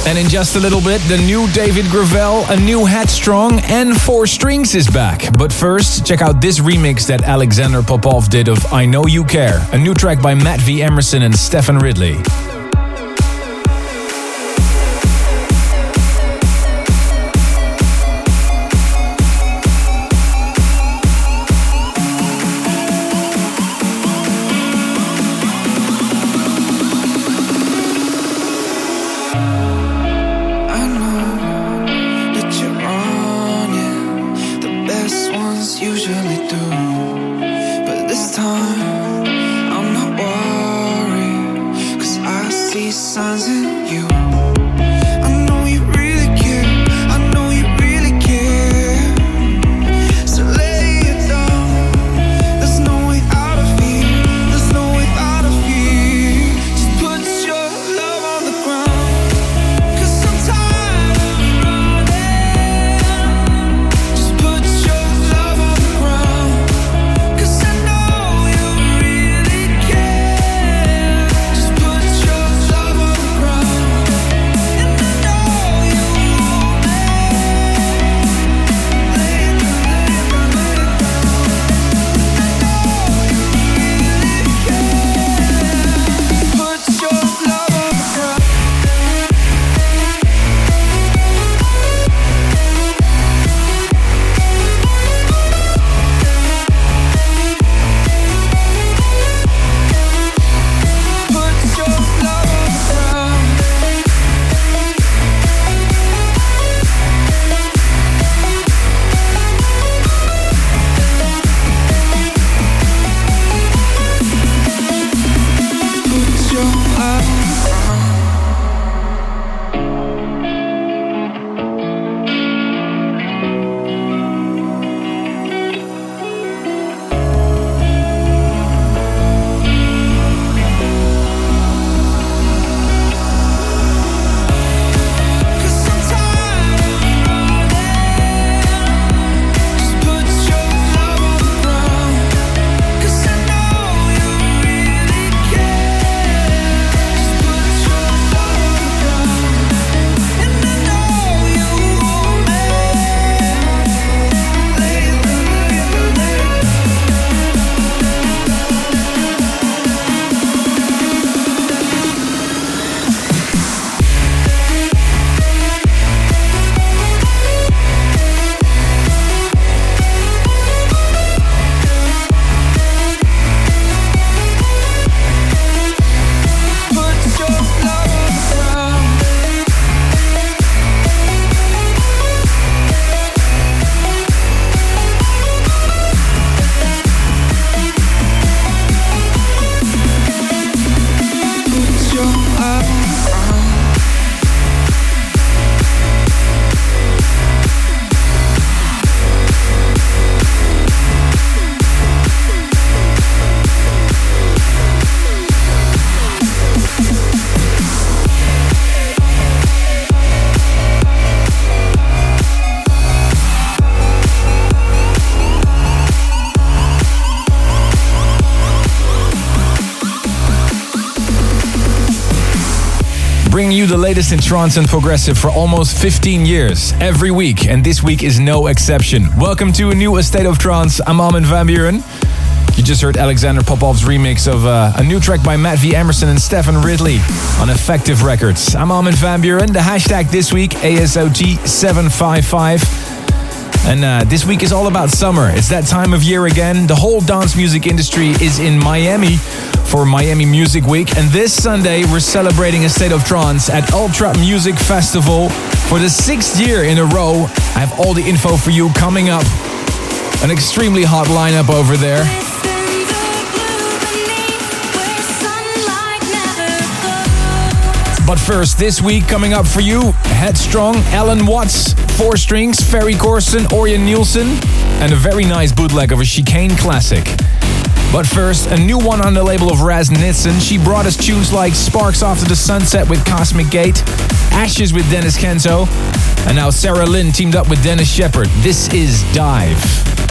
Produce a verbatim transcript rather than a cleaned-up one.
And in just a little bit, the new David Gravel, a new Headstrong, and Four Strings is back. But first, check out this remix that Alexander Popov did of I Know You Care, a new track by Matt V. Emerson and Stephen Ridley. Bringing you the latest in trance and progressive for almost fifteen years, every week, and this week is no exception. Welcome to a new A State of Trance. I'm Armin van Buuren. You just heard Alexander Popov's remix of uh, a new track by Matt V. Emerson and Stephen Ridley on Effective Records. I'm Armin van Buuren. The hashtag this week, A S O T seven five five. And uh, this week is all about summer. It's that time of year again. The whole dance music industry is in Miami for Miami Music Week. And this Sunday, we're celebrating A State of Trance at Ultra Music Festival for the sixth year in a row. I have all the info for you coming up. An extremely hot lineup over there. But first, this week coming up for you, Headstrong, Alan Watts, Four Strings, Ferry Corsten, Orjan Nilsen, and a very nice bootleg of a Chicane classic. But first, a new one on the label of Raz Nitzen. She brought us tunes like Sparks After the Sunset with Cosmic Gate, Ashes with Dennis Kenzo, and now Sarah Lynn teamed up with Dennis Shepard. This is Dive.